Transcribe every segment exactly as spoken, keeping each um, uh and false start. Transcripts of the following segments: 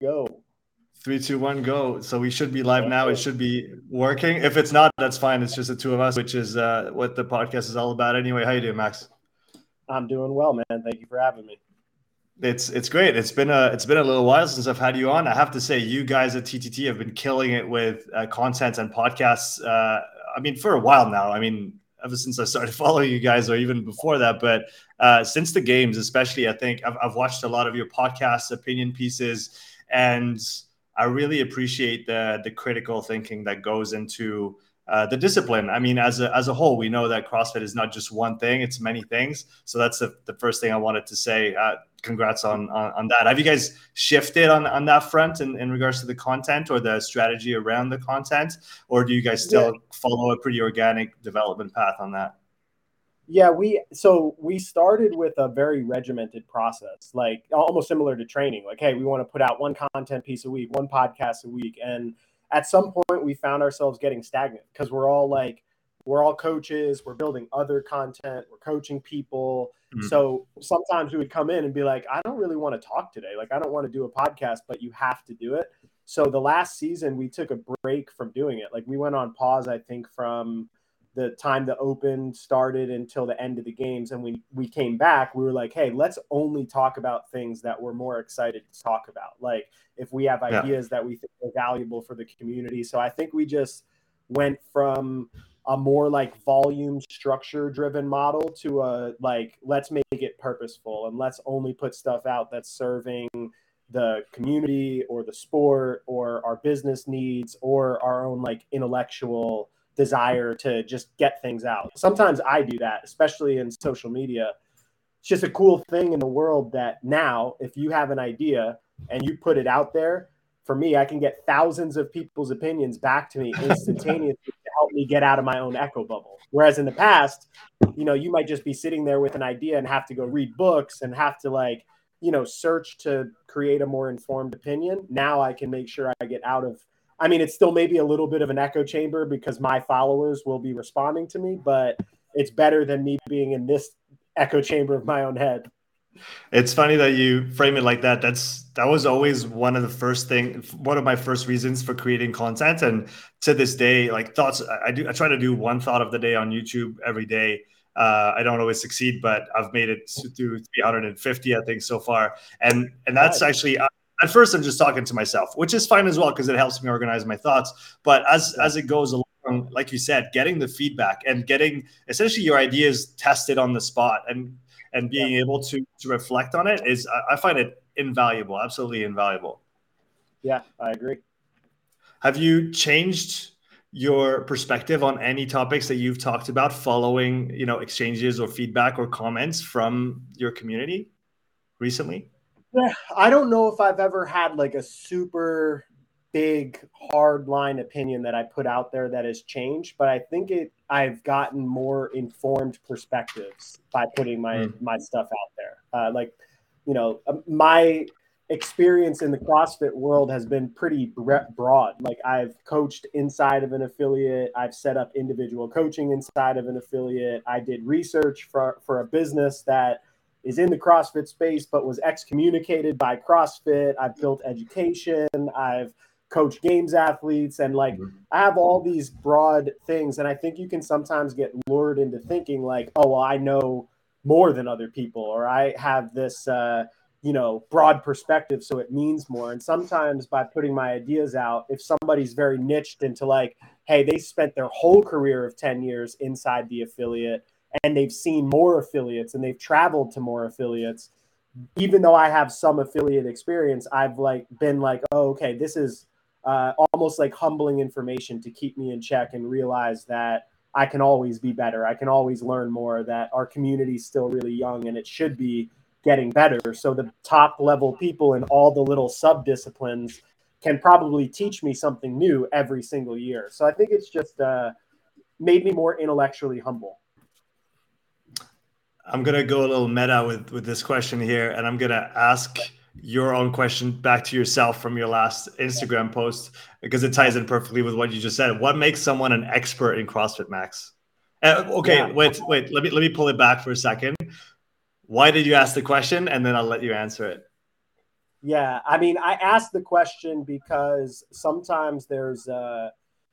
go. Three, two, one, go. So we should be live now. It should be working. If it's not, that's fine. It's just the two of us, which is uh, what the podcast is all about anyway. How you doing, Max? I'm doing well, man. Thank you for having me. It's it's great. It's been a it's been a little while since I've had you on. I have to say, you guys at T T T have been killing it with uh, content and podcasts. Uh, I mean, for a while now. I mean, ever since I started following you guys, or even before that. But uh, since the games, especially, I think I've, I've watched a lot of your podcasts, opinion pieces, and I really appreciate the the critical thinking that goes into uh, the discipline. I mean, as a as a whole, we know that CrossFit is not just one thing; it's many things. So that's the, the first thing I wanted to say. Uh, congrats on, on on that. Have you guys shifted on on that front in, in regards to the content or the strategy around the content, or do you guys still yeah. follow a pretty organic development path on that? Yeah, we so we started with a very regimented process, like almost similar to training. Like, hey, we want to put out one content piece a week, one podcast a week. And at some point we found ourselves getting stagnant because we're all like, we're all coaches, we're building other content, we're coaching people. Mm-hmm. So sometimes we would come in and be like, I don't really want to talk today. Like, I don't want to do a podcast, but you have to do it. So the last season we took a break from doing it. Like, we went on pause, I think, from the time the Open started until the end of the games. And we, we came back, we were like, hey, let's only talk about things that we're more excited to talk about. Like, if we have ideas yeah. that we think are valuable for the community. So I think we just went from a more like volume structure driven model to a, like, let's make it purposeful and let's only put stuff out that's serving the community or the sport or our business needs or our own like intellectual desire to just get things out. Sometimes I do that, especially in social media. It's just a cool thing in the world that now, if you have an idea and you put it out there, for me, I can get thousands of people's opinions back to me instantaneously to help me get out of my own echo bubble. Whereas in the past, you know, you might just be sitting there with an idea and have to go read books and have to like, you know, search to create a more informed opinion. Now I can make sure I get out of I mean, it's still maybe a little bit of an echo chamber because my followers will be responding to me, but it's better than me being in this echo chamber of my own head. It's funny that you frame it like that. That's that was always one of the first thing, one of my first reasons for creating content. And to this day, like thoughts, I do, I try to do one thought of the day on YouTube every day. Uh, I don't always succeed, but I've made it through three hundred fifty, I think, so far. And and that's right. actually. At first, I'm just talking to myself, which is fine as well because it helps me organize my thoughts. But as as it goes along, like you said, getting the feedback and getting essentially your ideas tested on the spot and and being yeah. able to to reflect on it is, I find it invaluable, absolutely invaluable. Yeah, I agree. Have you changed your perspective on any topics that you've talked about following, you know, exchanges or feedback or comments from your community recently? Yeah, I don't know if I've ever had like a super big hard line opinion that I put out there that has changed, but I think it I've gotten more informed perspectives by putting my mm. my stuff out there. Uh, like, you know, my experience in the CrossFit world has been pretty broad. Like, I've coached inside of an affiliate, I've set up individual coaching inside of an affiliate, I did research for for a business that is in the CrossFit space, but was excommunicated by CrossFit. I've built education. I've coached games athletes. And like, mm-hmm. I have all these broad things. And I think you can sometimes get lured into thinking like, oh, well, I know more than other people, or I have this, uh, you know, broad perspective, so it means more. And sometimes by putting my ideas out, if somebody's very niched into like, hey, they spent their whole career of ten years inside the affiliate, and they've seen more affiliates and they've traveled to more affiliates, even though I have some affiliate experience, I've like been like, oh, okay, this is uh, almost like humbling information to keep me in check and realize that I can always be better. I can always learn more, that our community is still really young and it should be getting better. So the top level people in all the little sub disciplines can probably teach me something new every single year. So I think it's just uh, made me more intellectually humble. I'm going to go a little meta with, with this question here, and I'm going to ask your own question back to yourself from your last Instagram post, because it ties in perfectly with what you just said. What makes someone an expert in CrossFit, Max? Uh, okay, yeah. wait, wait. Let me let me pull it back for a second. Why did you ask the question? And then I'll let you answer it. Yeah, I mean, I asked the question because sometimes there's uh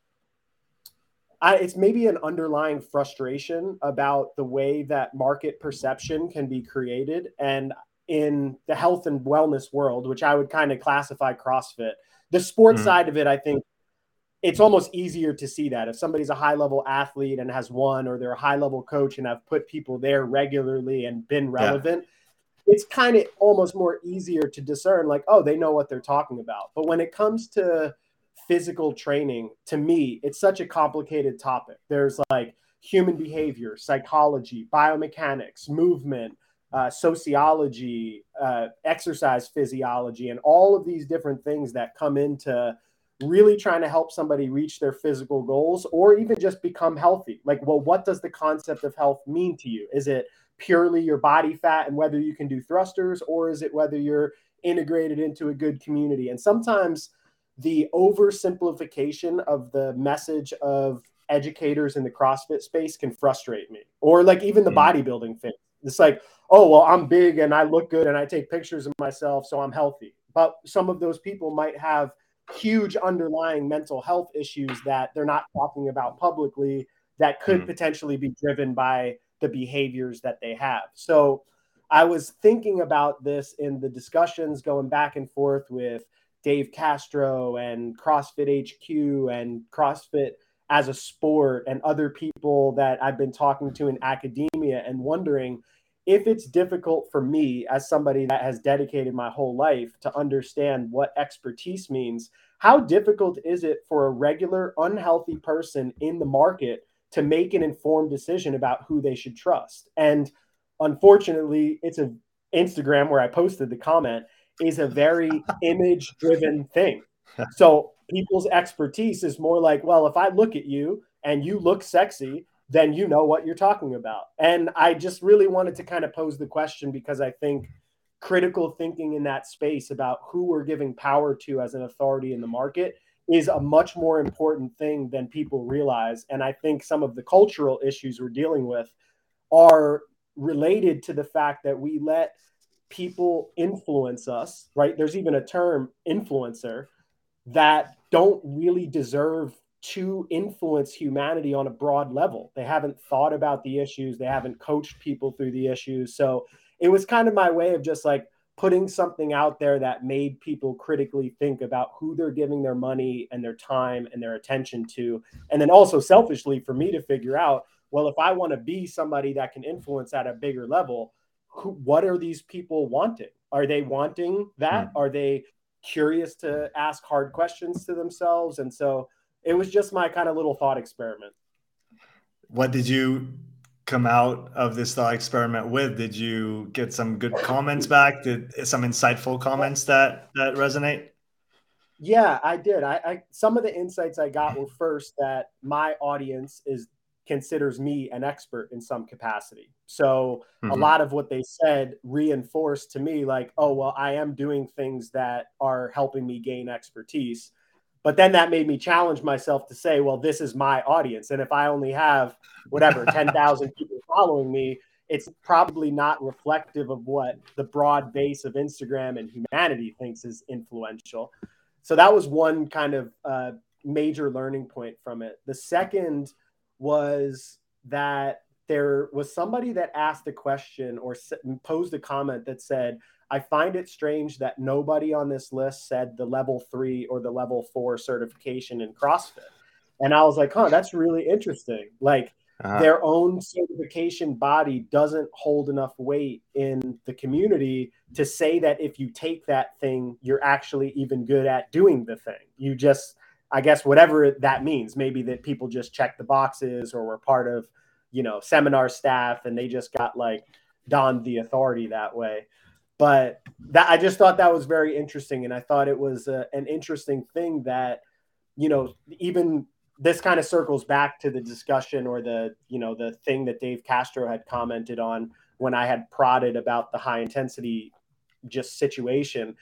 I, it's maybe an underlying frustration about the way that market perception can be created. And in the health and wellness world, which I would kind of classify CrossFit, the sports Mhm. side of it, I think it's almost easier to see that if somebody's a high level athlete and has won, or they're a high level coach and have put people there regularly and been Yeah. relevant, it's kind of almost more easier to discern, like, oh, they know what they're talking about. But when it comes to physical training, to me, it's such a complicated topic. There's like human behavior, psychology, biomechanics, movement, uh, sociology, uh, exercise physiology, and all of these different things that come into really trying to help somebody reach their physical goals or even just become healthy. Like, well, what does the concept of health mean to you? Is it purely your body fat and whether you can do thrusters, or is it whether you're integrated into a good community? And sometimes the oversimplification of the message of educators in the CrossFit space can frustrate me, or like even the Mm. bodybuilding thing. It's like, oh, well, I'm big and I look good and I take pictures of myself, so I'm healthy. But some of those people might have huge underlying mental health issues that they're not talking about publicly that could Mm. potentially be driven by the behaviors that they have. So I was thinking about this in the discussions going back and forth with Dave Castro and CrossFit H Q and CrossFit as a sport and other people that I've been talking to in academia, and wondering if it's difficult for me as somebody that has dedicated my whole life to understand what expertise means. How difficult is it for a regular unhealthy person in the market to make an informed decision about who they should trust? And unfortunately, it's a Instagram where I posted the comment is a very image driven thing. So people's expertise is more like, well, if I look at you and you look sexy, then you know what you're talking about. And I just really wanted to kind of pose the question because I think critical thinking in that space about who we're giving power to as an authority in the market is a much more important thing than people realize. And I think some of the cultural issues we're dealing with are related to the fact that we let people influence us, right? There's even a term, influencer, that don't really deserve to influence humanity on a broad level. They haven't thought about the issues, they haven't coached people through the issues. So it was kind of my way of just like putting something out there that made people critically think about who they're giving their money and their time and their attention to. And then also selfishly for me to figure out, well, if I want to be somebody that can influence at a bigger level, who, what are these people wanting? Are they wanting that? Mm. Are they curious to ask hard questions to themselves? And so it was just my kind of little thought experiment. What did you come out of this thought experiment with? Did you get some good comments back? Did some insightful comments that that resonate? Yeah, I did. I, I some of the insights I got were, first, that my audience is considers me an expert in some capacity. So a Mm-hmm. lot of what they said reinforced to me like, oh, well, I am doing things that are helping me gain expertise. But then that made me challenge myself to say, well, this is my audience. And if I only have whatever, ten thousand people following me, it's probably not reflective of what the broad base of Instagram and humanity thinks is influential. So that was one kind of uh, major learning point from it. The second was that there was somebody that asked a question or posed a comment that said, I find it strange that nobody on this list said the level three or the level four certification in CrossFit. And I was like, huh, that's really interesting. Like, Uh-huh. their own certification body doesn't hold enough weight in the community to say that if you take that thing, you're actually even good at doing the thing. You just, I guess, whatever that means, maybe that people just check the boxes or were part of, you know, seminar staff and they just got like donned the authority that way. But that, I just thought that was very interesting. And I thought it was a, an interesting thing that, you know, even this kind of circles back to the discussion or the, you know, the thing that Dave Castro had commented on when I had prodded about the high intensity just situation.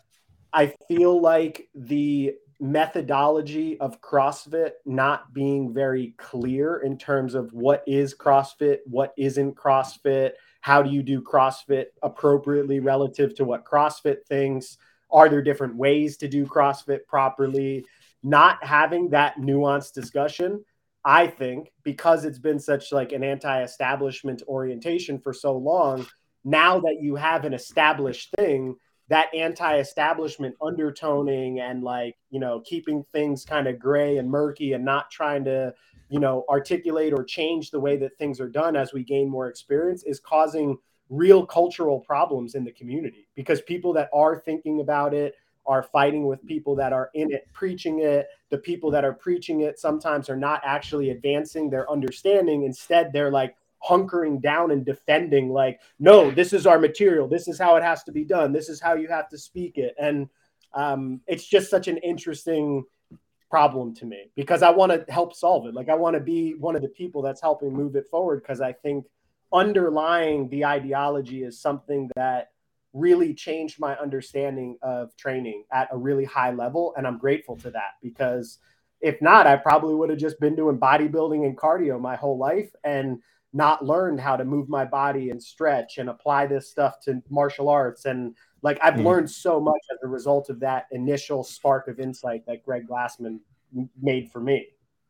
I feel like the methodology of CrossFit not being very clear in terms of what is CrossFit, what isn't CrossFit, how do you do CrossFit appropriately relative to what CrossFit thinks, Are there different ways to do CrossFit properly? Not having that nuanced discussion, I think, because it's been such like an anti-establishment orientation for so long, now that you have an established thing, that anti-establishment undertoning and like, you know, keeping things kind of gray and murky and not trying to, you know, articulate or change the way that things are done as we gain more experience is causing real cultural problems in the community, because people that are thinking about it are fighting with people that are in it, preaching it. The people that are preaching it sometimes are not actually advancing their understanding. Instead, they're like hunkering down and defending, like, no, this is our material. This is how it has to be done. This is how you have to speak it. And um, it's just such an interesting problem to me, because I want to help solve it. Like, I want to be one of the people that's helping move it forward, because I think underlying the ideology is something that really changed my understanding of training at a really high level. And I'm grateful to that, because if not, I probably would have just been doing bodybuilding and cardio my whole life and not learned how to move my body and stretch and apply this stuff to martial arts. And like, I've mm. learned so much as a result of that initial spark of insight that Greg Glassman made for me.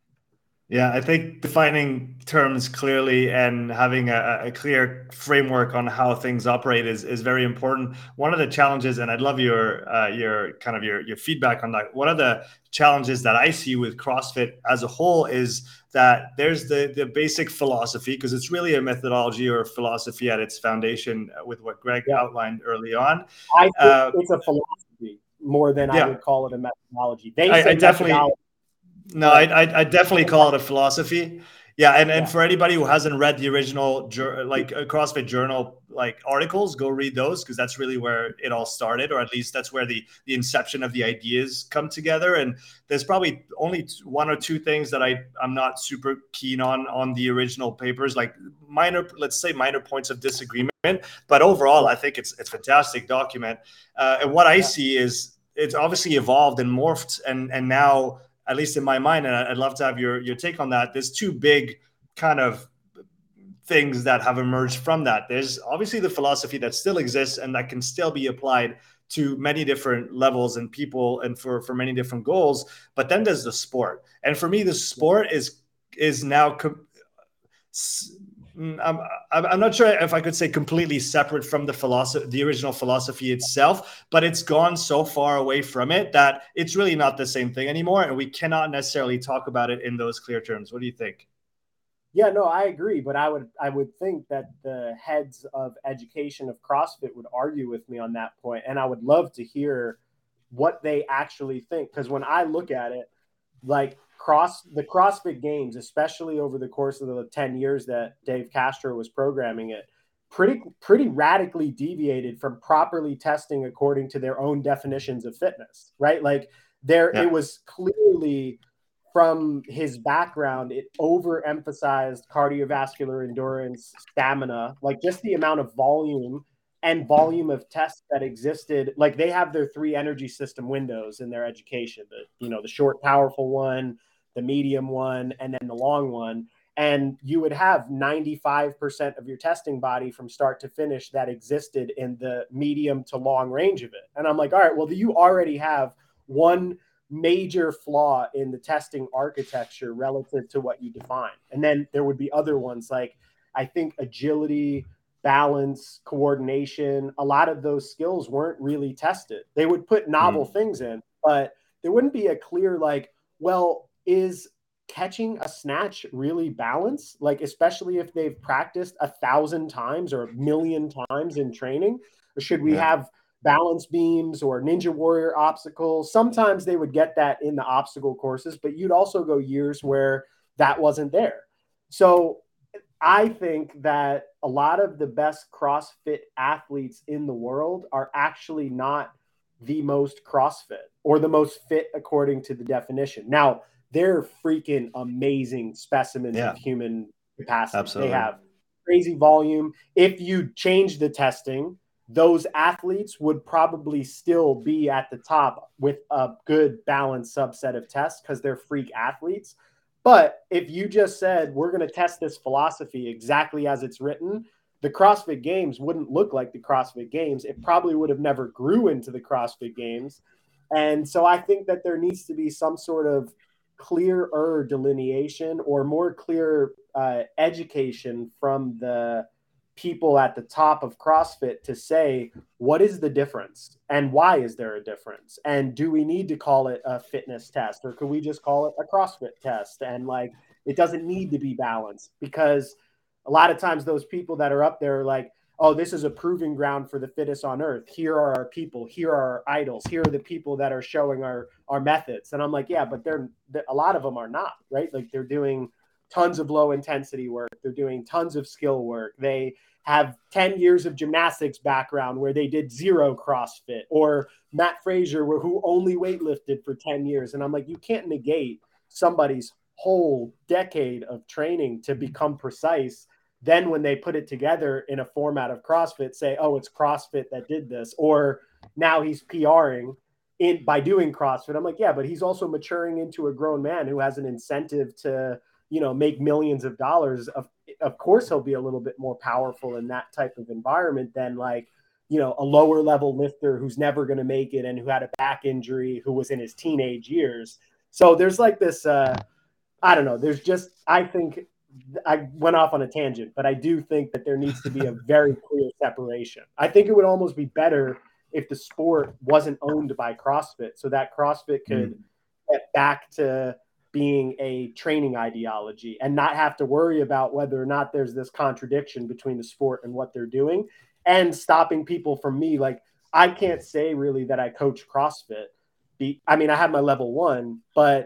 Yeah, I think defining terms clearly and having a, a clear framework on how things operate is, is very important. One of the challenges, and I'd love your uh, your kind of your, your feedback on that. One of the challenges that I see with CrossFit as a whole is that there's the, the basic philosophy, because it's really a methodology or a philosophy at its foundation with what Greg yeah. outlined early on. I think uh, it's a philosophy more than yeah. I would call it a methodology. They I, say I definitely. methodology. No, I, I I definitely call it a philosophy. Yeah, and, and yeah. for anybody who hasn't read the original like CrossFit Journal like articles, go read those, because that's really where it all started, or at least that's where the the inception of the ideas come together. And there's probably only one or two things that I I'm not super keen on on the original papers, like minor, let's say minor points of disagreement. But overall, I think it's it's a fantastic document. Uh, and what I yeah. see is it's obviously evolved and morphed, and and now, at least in my mind, and I'd love to have your, your take on that, there's two big kind of things that have emerged from that. There's obviously the philosophy that still exists and that can still be applied to many different levels and people and for, for many different goals. But then there's the sport. And for me, the sport is, is now I'm, I'm not sure if I could say completely separate from the philosophy, the original philosophy itself, but it's gone so far away from it that it's really not the same thing anymore. And we cannot necessarily talk about it in those clear terms. What do you think? Yeah, no, I agree. But I would, I would think that the heads of education of CrossFit would argue with me on that point. And I would love to hear what they actually think. Because when I look at it, like, Cross the CrossFit Games, especially over the course of the ten years that Dave Castro was programming it, pretty pretty radically deviated from properly testing according to their own definitions of fitness, right? Like, there, yeah. it was clearly from his background, it overemphasized cardiovascular endurance, stamina, like just the amount of volume and volume of tests that existed. Like, they have their three energy system windows in their education, the, you know, the short, powerful one, the medium one, and then the long one. And you would have ninety-five percent of your testing body from start to finish that existed in the medium to long range of it. And I'm like, all right, well, you already have one major flaw in the testing architecture relative to what you define. And then there would be other ones, like, I think agility, balance, coordination, a lot of those skills weren't really tested. They would put novel mm. things in, but there wouldn't be a clear, like, well, is catching a snatch really balance? Like, especially if they've practiced a thousand times or a million times in training, or should we yeah. have balance beams or Ninja Warrior obstacles? Sometimes they would get that in the obstacle courses, but you'd also go years where that wasn't there. So I think that a lot of the best CrossFit athletes in the world are actually not the most CrossFit or the most fit according to the definition. Now, they're freaking amazing specimens yeah. of human capacity. Absolutely. They have crazy volume. If you change the testing, those athletes would probably still be at the top with a good balanced subset of tests because they're freak athletes. But if you just said, we're going to test this philosophy exactly as it's written, the CrossFit Games wouldn't look like the CrossFit Games. It probably would have never grew into the CrossFit Games. And so I think that there needs to be some sort of clearer delineation or more clear uh, education from the people at the top of CrossFit to say, what is the difference and why is there a difference? And do we need to call it a fitness test, or could we just call it a CrossFit test? And like, it doesn't need to be balanced, because a lot of times those people that are up there are like, oh, this is a proving ground for the fittest on earth. Here are our people. Here are our idols. Here are the people that are showing our, our methods. And I'm like, yeah, but they're, a lot of them are not, right? Like, they're doing tons of low intensity work. They're doing tons of skill work. They have ten years of gymnastics background where they did zero CrossFit, or Matt Frazier, where who only weightlifted for ten years. And I'm like, you can't negate somebody's whole decade of training to become precise. Then when they put it together in a format of CrossFit, say, oh, it's CrossFit that did this, or now he's PRing in by doing CrossFit. I'm like, yeah, but he's also maturing into a grown man who has an incentive to, you know, make millions of dollars. Of, of course, he'll be a little bit more powerful in that type of environment than, like, you know, a lower level lifter who's never going to make it and who had a back injury, who was in his teenage years. So there's like this, uh, I don't know, there's just, I think, I went off on a tangent, but I do think that there needs to be a very clear separation. I think it would almost be better if the sport wasn't owned by CrossFit, so that CrossFit could mm. get back to being a training ideology and not have to worry about whether or not there's this contradiction between the sport and what they're doing, and stopping people from me. Like, I can't say really that I coach CrossFit. Be, I mean, I have my level one, but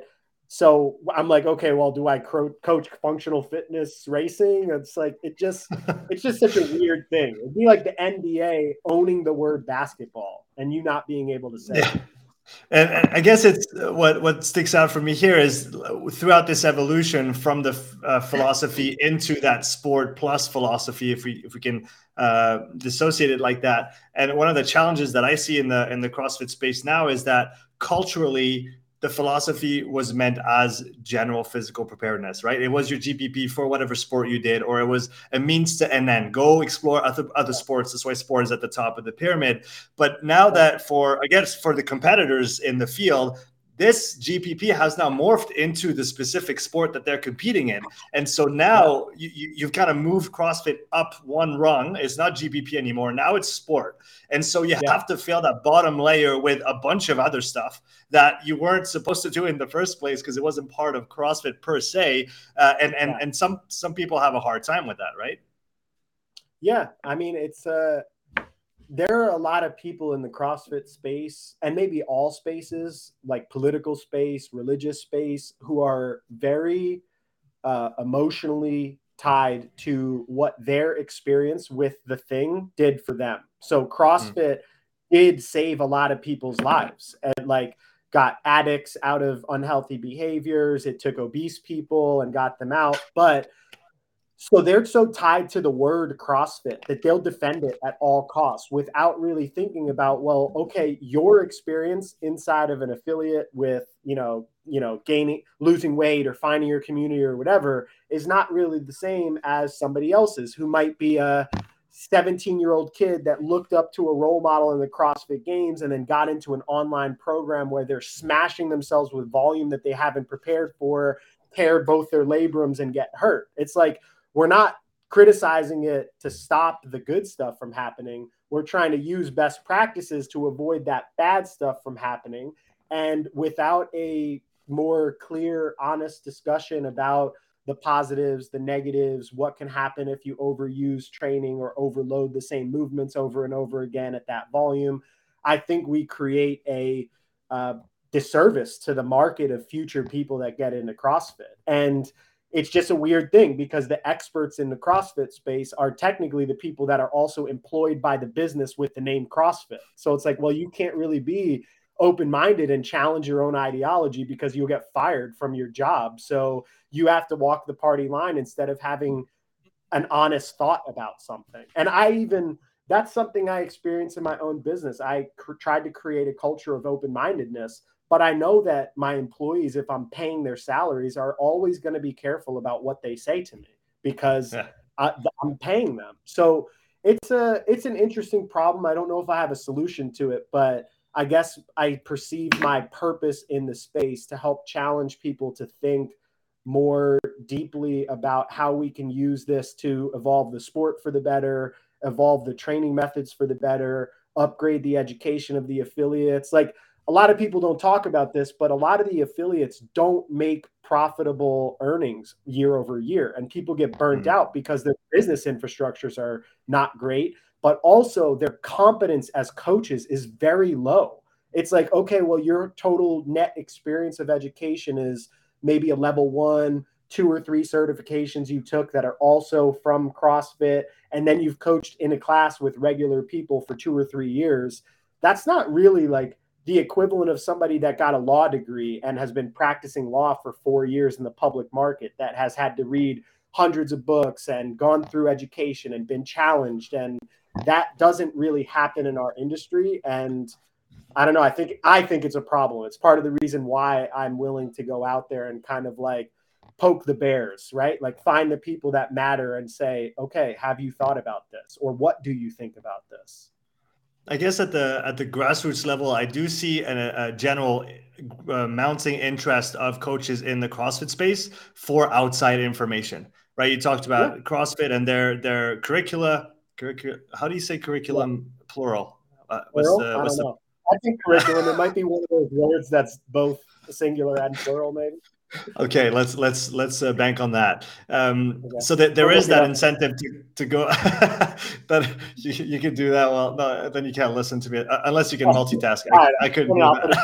so I'm like, okay, well, do I cro- coach functional fitness racing? It's like, it just, it's just such a weird thing. It'd be like the N B A owning the word basketball and you not being able to say yeah. it. And, and I guess it's what, what sticks out for me here is throughout this evolution from the uh, philosophy into that sport plus philosophy, if we, if we can uh, dissociate it like that. And one of the challenges that I see in the, in the CrossFit space now is that culturally, the philosophy was meant as general physical preparedness, right? It was your G P P for whatever sport you did, or it was a means to an end. Go explore other, other sports. That's why sport is at the top of the pyramid. But now that for, I guess, for the competitors in the field, this G P P has now morphed into the specific sport that they're competing in. And so now you, you, you've kind of moved CrossFit up one rung. It's not G P P anymore. Now it's sport. And so you yeah. have to fill that bottom layer with a bunch of other stuff that you weren't supposed to do in the first place because it wasn't part of CrossFit per se. Uh, and and, yeah. and some, some people have a hard time with that, right? Yeah. I mean, it's uh, there are a lot of people in the CrossFit space, and maybe all spaces, like political space, religious space, who are very uh, emotionally tied to what their experience with the thing did for them. So CrossFit mm. did save a lot of people's lives, and like got addicts out of unhealthy behaviors. It took obese people and got them out. But so they're so tied to the word CrossFit that they'll defend it at all costs without really thinking about, well, okay, your experience inside of an affiliate with, you know, you know, gaining, losing weight or finding your community or whatever is not really the same as somebody else's, who might be a seventeen year old kid that looked up to a role model in the CrossFit Games and then got into an online program where they're smashing themselves with volume that they haven't prepared for, tear both their labrums and get hurt. It's like, we're not criticizing it to stop the good stuff from happening. We're trying to use best practices to avoid that bad stuff from happening. And without a more clear, honest discussion about the positives, the negatives, what can happen if you overuse training or overload the same movements over and over again at that volume, I think we create a uh, disservice to the market of future people that get into CrossFit. And it's just a weird thing because the experts in the CrossFit space are technically the people that are also employed by the business with the name CrossFit. So it's like, well, you can't really be open-minded and challenge your own ideology because you'll get fired from your job. So you have to walk the party line instead of having an honest thought about something. And I even, that's something I experienced in my own business. I cr- tried to create a culture of open-mindedness. But I know that my employees, if I'm paying their salaries, are always going to be careful about what they say to me because yeah. I, I'm paying them. So it's a it's an interesting problem. I don't know if I have a solution to it, but I guess I perceive my purpose in the space to help challenge people to think more deeply about how we can use this to evolve the sport for the better, evolve the training methods for the better, upgrade the education of the affiliates. Like, a lot of people don't talk about this, but a lot of the affiliates don't make profitable earnings year over year, and people get burnt mm-hmm. out because their business infrastructures are not great, but also their competence as coaches is very low. It's like, okay, well, your total net experience of education is maybe a level one, two or three certifications you took that are also from CrossFit, and then you've coached in a class with regular people for two or three years. That's not really like the equivalent of somebody that got a law degree and has been practicing law for four years in the public market, that has had to read hundreds of books and gone through education and been challenged. And that doesn't really happen in our industry. And I don't know. I think, I think it's a problem. It's part of the reason why I'm willing to go out there and kind of like poke the bears, right? Like, find the people that matter and say, okay, have you thought about this? Or what do you think about this? I guess at the at the grassroots level, I do see a, a general uh, mounting interest of coaches in the CrossFit space for outside information, right? You talked about yeah. CrossFit and their their curricula. Curricula. How do you say curriculum yeah. plural? Uh, what's plural? the, I what's don't the... know. I think curriculum. It might be one of those words that's both singular and plural, maybe. Okay, let's let's let's uh, bank on that. Um, okay. So that there we'll is that incentive to to go. That you, you can do that. Well, no, then you can't listen to me uh, unless you can multitask. I, right. I couldn't do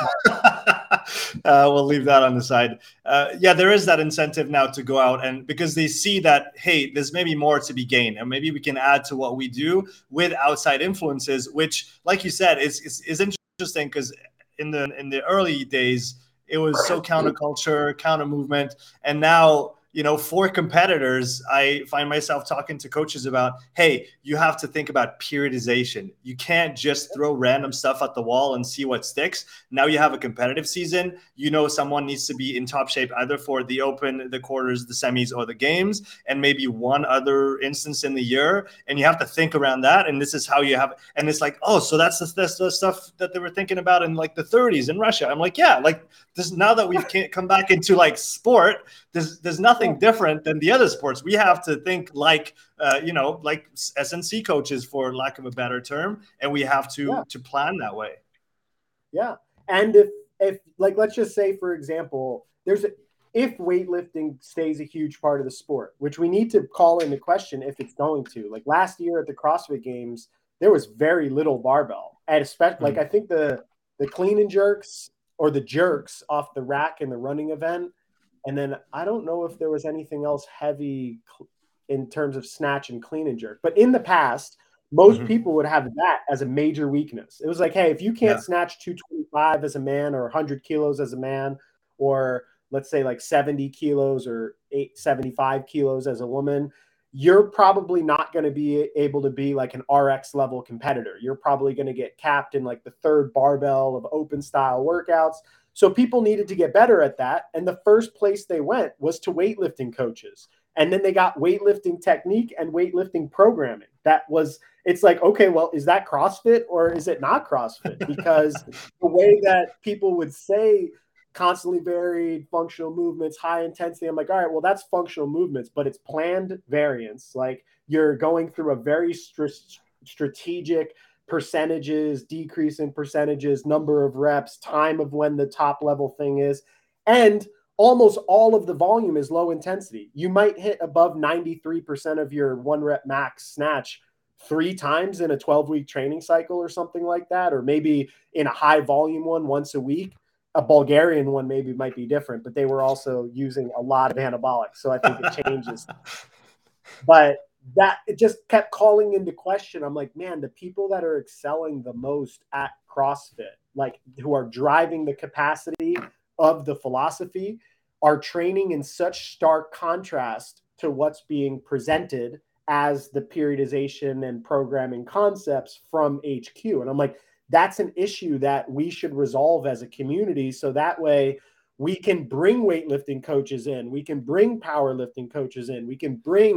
that. uh, we'll leave that on the side. Uh, yeah, there is that incentive now to go out, and because they see that, hey, there's maybe more to be gained, and maybe we can add to what we do with outside influences, which, like you said, is is, is interesting because in the in the early days, it was so counterculture, counter movement. And now, you know, for competitors, I find myself talking to coaches about, hey, you have to think about periodization. You can't just throw random stuff at the wall and see what sticks. Now you have a competitive season. You know, someone needs to be in top shape either for the open, the quarters, the semis, or the games, and maybe one other instance in the year. And you have to think around that. And this is how you have, and it's like, oh, so that's the, that's the stuff that they were thinking about in like the thirties in Russia. I'm like, yeah, like this, now that we've come back into like sport, there's, there's nothing different than the other sports. We have to think like, uh, you know, like S N C coaches, for lack of a better term, and we have to yeah. to plan that way. Yeah, and if if like let's just say, for example, there's a, if weightlifting stays a huge part of the sport, which we need to call into question if it's going to. Like last year at the CrossFit Games, there was very little barbell, and especially mm-hmm. like I think the the clean and jerks or the jerks off the rack in the running event. And then I don't know if there was anything else heavy in terms of snatch and clean and jerk. But in the past, most mm-hmm. people would have that as a major weakness. It was like, hey, if you can't yeah. snatch two twenty-five as a man, or one hundred kilos as a man, or let's say like seventy kilos or eight, seventy-five kilos as a woman, you're probably not going to be able to be like an R X level competitor. You're probably going to get capped in like the third barbell of open style workouts. So people needed to get better at that. And the first place they went was to weightlifting coaches. And then they got weightlifting technique and weightlifting programming. That was, it's like, okay, well, is that CrossFit or is it not CrossFit? Because the way that people would say constantly varied functional movements, high intensity, I'm like, all right, well, that's functional movements, but it's planned variance. Like you're going through a very st- strategic percentages, decrease in percentages, number of reps, time of when the top level thing is. And almost all of the volume is low intensity. You might hit above ninety-three percent of your one rep max snatch three times in a twelve week training cycle or something like that. Or maybe in a high volume one once a week. A Bulgarian one maybe might be different, but they were also using a lot of anabolics. So I think it changes. But that it just kept calling into question. I'm like, man, the people that are excelling the most at CrossFit, like who are driving the capacity of the philosophy, are training in such stark contrast to what's being presented as the periodization and programming concepts from H Q. And I'm like, that's an issue that we should resolve as a community. So that way we can bring weightlifting coaches in, we can bring powerlifting coaches in, we can bring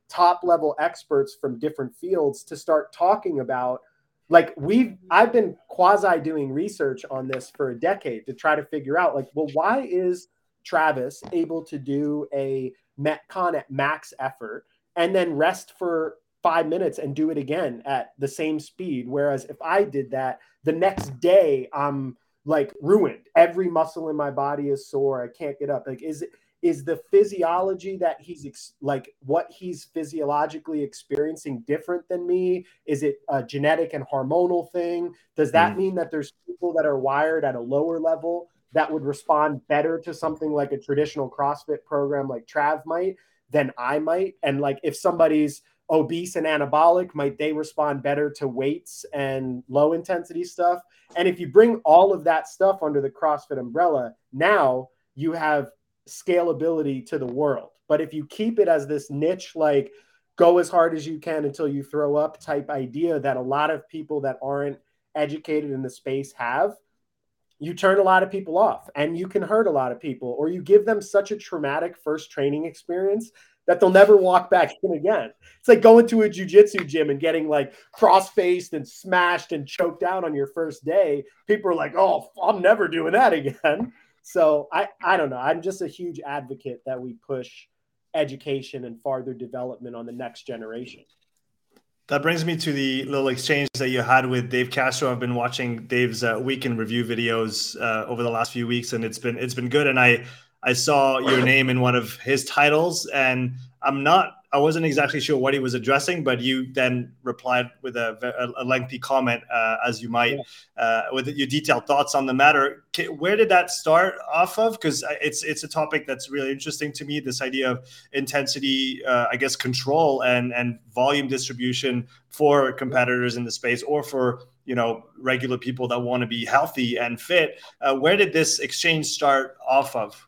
top level experts from different fields to start talking about, like, we've, I've been quasi doing research on this for a decade to try to figure out, like, well, why is Travis able to do a Metcon at max effort and then rest for five minutes and do it again at the same speed? Whereas if I did that, the next day I'm like ruined. Every muscle in my body is sore. I can't get up. Like, is it, is the physiology that he's ex- like what he's physiologically experiencing different than me? Is it a genetic and hormonal thing? Does that mm. mean that there's people that are wired at a lower level that would respond better to something like a traditional CrossFit program like Trav might than I might? And like, if somebody's obese and anabolic, might they respond better to weights and low intensity stuff? And if you bring all of that stuff under the CrossFit umbrella, now you have scalability to the world. But if you keep it as this niche, like go as hard as you can until you throw up type idea that a lot of people that aren't educated in the space have, you turn a lot of people off and you can hurt a lot of people, or you give them such a traumatic first training experience that they'll never walk back in again. It's like going to a jiu-jitsu gym and getting like cross-faced and smashed and choked out on your first day. People are like, oh, I'm never doing that again. So I, I don't know. I'm just a huge advocate that we push education and farther development on the next generation. That brings me to the little exchange that you had with Dave Castro. I've been watching Dave's uh, week in review videos uh, over the last few weeks, and it's been it's been good. And I I saw your name in one of his titles, and I'm not I wasn't exactly sure what he was addressing, but you then replied with a, a lengthy comment, uh, as you might, yeah. uh, with your detailed thoughts on the matter. Where did that start off of? Because it's it's a topic that's really interesting to me. This idea of intensity, uh, I guess, control and and volume distribution for competitors in the space, or for you know regular people that want to be healthy and fit. Uh, where did this exchange start off of?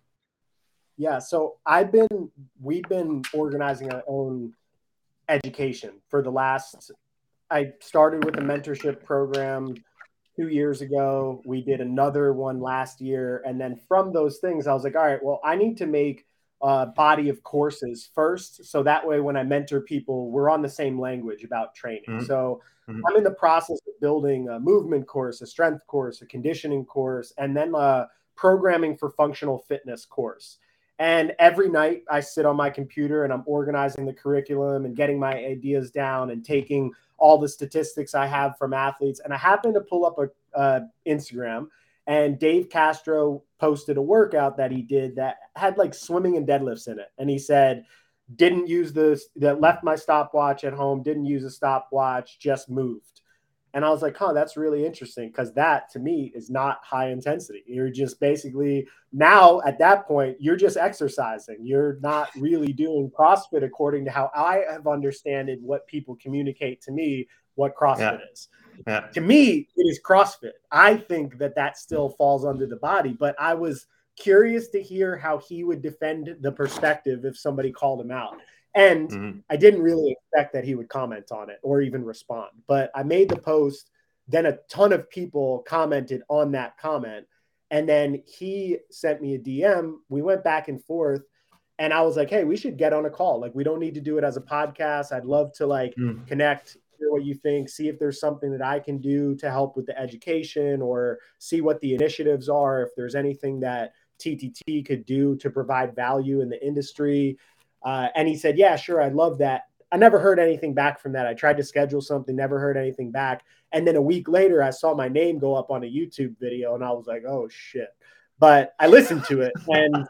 Yeah, so I've been, we've been organizing our own education for the last, I started with a mentorship program two years ago. We did another one last year. And then from those things, I was like, all right, well, I need to make a body of courses first. So that way, when I mentor people, we're on the same language about training. Mm-hmm. So mm-hmm. I'm in the process of building a movement course, a strength course, a conditioning course, and then a programming for functional fitness course. And every night I sit on my computer and I'm organizing the curriculum and getting my ideas down and taking all the statistics I have from athletes. And I happened to pull up a uh, Instagram, and Dave Castro posted a workout that he did that had like swimming and deadlifts in it. And he said, didn't use the, that left my stopwatch at home, didn't use a stopwatch, just moved. And I was like, huh, that's really interesting, because that to me is not high intensity. You're just basically now at that point, you're just exercising. You're not really doing CrossFit according to how I have understood what people communicate to me what CrossFit yeah. is. Yeah. To me, it is CrossFit. I think that that still falls under the body, but I was curious to hear how he would defend the perspective if somebody called him out. And mm-hmm. I didn't really expect that he would comment on it or even respond. But I made the post. Then a ton of people commented on that comment. And then he sent me a D M. We went back and forth. And I was like, hey, we should get on a call. Like, we don't need to do it as a podcast. I'd love to, like, mm. connect, hear what you think, see if there's something that I can do to help with the education, or see what the initiatives are, if there's anything that T T T could do to provide value in the industry. Uh, and he said, yeah, sure, I love that. I never heard anything back from that. I tried to schedule something, never heard anything back. And then a week later, I saw my name go up on a YouTube video, and I was like, oh, shit. But I listened to it, and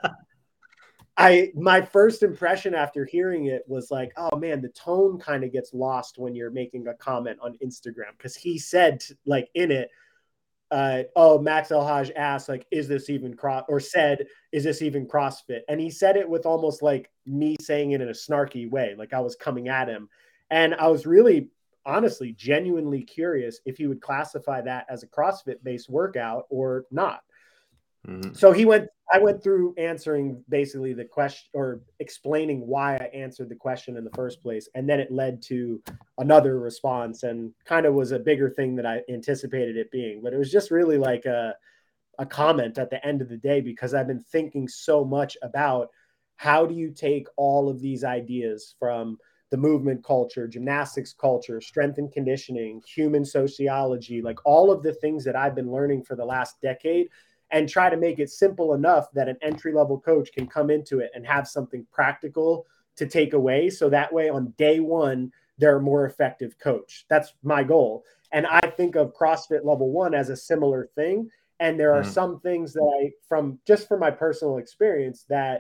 I my first impression after hearing it was like, oh, man, the tone kind of gets lost when you're making a comment on Instagram, because he said, like, in it, Uh, oh, Max El-Haj asked, like, is this even cross, or said, is this even CrossFit? And he said it with almost like me saying it in a snarky way, like I was coming at him. And I was really, honestly, genuinely curious if he would classify that as a CrossFit-based workout or not. Mm-hmm. So he went, I went through answering basically the question, or explaining why I answered the question in the first place. And then it led to another response, and kind of was a bigger thing than I anticipated it being. But it was just really like a, a comment at the end of the day, because I've been thinking so much about how do you take all of these ideas from the movement culture, gymnastics culture, strength and conditioning, human sociology, like all of the things that I've been learning for the last decade, and try to make it simple enough that an entry-level coach can come into it and have something practical to take away. So that way on day one, they're a more effective coach. That's my goal. And I think of CrossFit Level One as a similar thing. And there are mm. some things that I, from just from my personal experience, that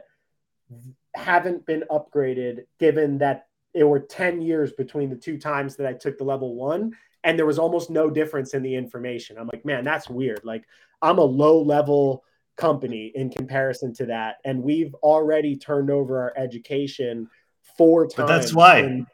haven't been upgraded, given that it were ten years between the two times that I took the level one, and there was almost no difference in the information. I'm like, man, that's weird. Like, I'm a low level company in comparison to that. And we've already turned over our education four times. But that's why. In,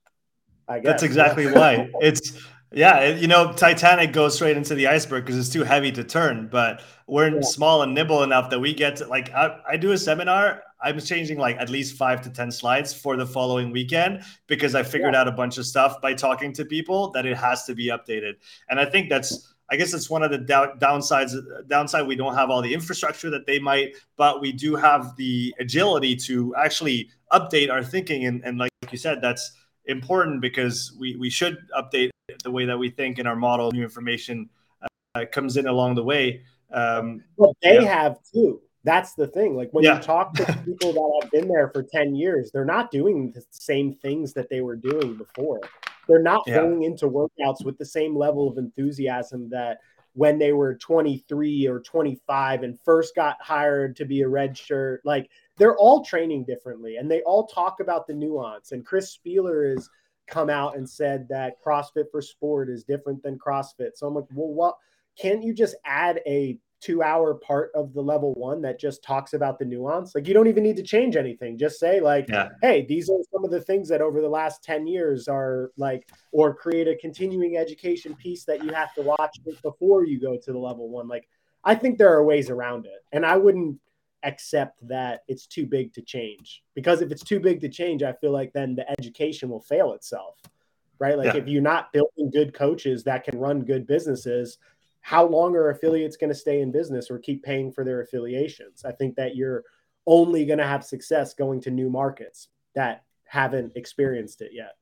I guess. That's exactly yeah. why. It's, yeah, you know, Titanic goes straight into the iceberg because it's too heavy to turn, but we're yeah. small and nimble enough that we get to, like, I, I do a seminar, I'm changing like at least five to ten slides for the following weekend because I figured yeah. out a bunch of stuff by talking to people that it has to be updated. And I think that's, I guess it's one of the down, downsides. Downside, we don't have all the infrastructure that they might, but we do have the agility to actually update our thinking. And, and like you said, that's important because we, we should update the way that we think in our model. New information uh, comes in along the way. Um, well, they yeah. have too. That's the thing. Like when yeah. you talk to people that have been there for ten years, they're not doing the same things that they were doing before. They're not yeah. going into workouts with the same level of enthusiasm that when they were twenty-three or twenty-five and first got hired to be a red shirt. Like, they're all training differently, and they all talk about the nuance. And Chris Spieler has come out and said that CrossFit for Sport is different than CrossFit. So I'm like, well, what? Can't you just add a two-hour part of the level one that just talks about the nuance? Like, you don't even need to change anything. Just say like, yeah. hey, these are some of the things that over the last ten years are like, or create a continuing education piece that you have to watch before you go to the level one. Like, I think there are ways around it. And I wouldn't accept that it's too big to change, because if it's too big to change, I feel like then the education will fail itself, right? Like yeah. if you're not building good coaches that can run good businesses, how long are affiliates going to stay in business or keep paying for their affiliations? I think that you're only going to have success going to new markets that haven't experienced it yet.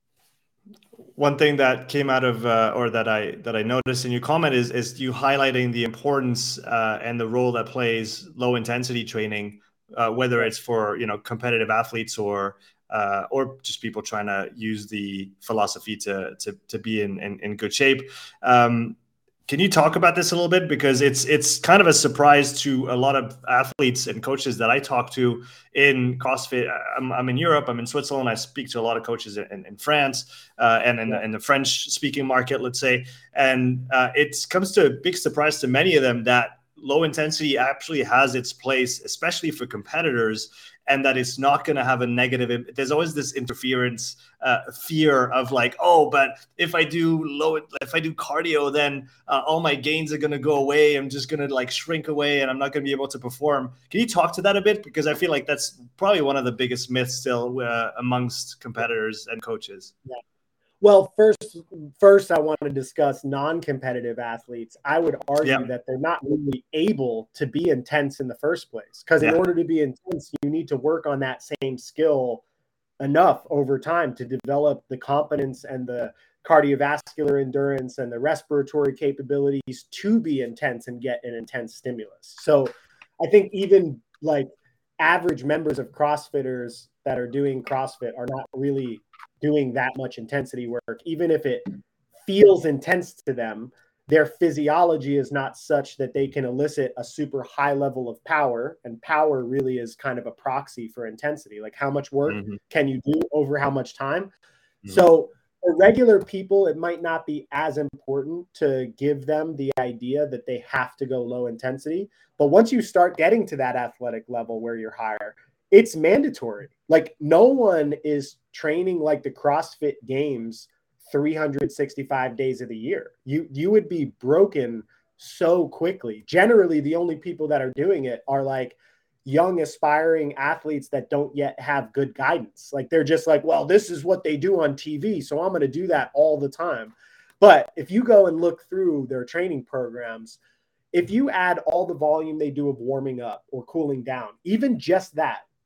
One thing that came out of, uh, or that I that I noticed in your comment is is you highlighting the importance uh, and the role that plays low intensity training, uh, whether it's for you know competitive athletes or uh, or just people trying to use the philosophy to to to be in in, in good shape. Um, Can you talk about this a little bit? Because it's it's kind of a surprise to a lot of athletes and coaches that I talk to in CrossFit. I'm, I'm in Europe. I'm in Switzerland. I speak to a lot of coaches in, in France uh, and in, yeah. in the French-speaking market, let's say. And uh, it comes to a big surprise to many of them that low intensity actually has its place, especially for competitors, and that it's not going to have a negative. There's always this interference uh, fear of like, oh, but if I do low, if I do cardio, then uh, all my gains are going to go away. I'm just going to like shrink away, and I'm not going to be able to perform. Can you talk to that a bit? Because I feel like that's probably one of the biggest myths still uh, amongst competitors and coaches. Yeah. Well, first, first I want to discuss non-competitive athletes. I would argue yeah. that they're not really able to be intense in the first place, because yeah. in order to be intense, you need to work on that same skill enough over time to develop the competence and the cardiovascular endurance and the respiratory capabilities to be intense and get an intense stimulus. So I think even like average members of CrossFitters that are doing CrossFit are not really doing that much intensity work. Even if it feels intense to them, their physiology is not such that they can elicit a super high level of power. And power really is kind of a proxy for intensity. Like, how much work mm-hmm. can you do over how much time? Mm-hmm. So for regular people, it might not be as important to give them the idea that they have to go low intensity. But once you start getting to that athletic level where you're higher, it's mandatory. Like, no one is training like the CrossFit Games three hundred sixty-five days of the year. You you would be broken so quickly. Generally, the only people that are doing it are like young aspiring athletes that don't yet have good guidance. Like, they're just like, well, this is what they do on T V, so I'm going to do that all the time. But if you go and look through their training programs, if you add all the volume they do of warming up or cooling down, even just that,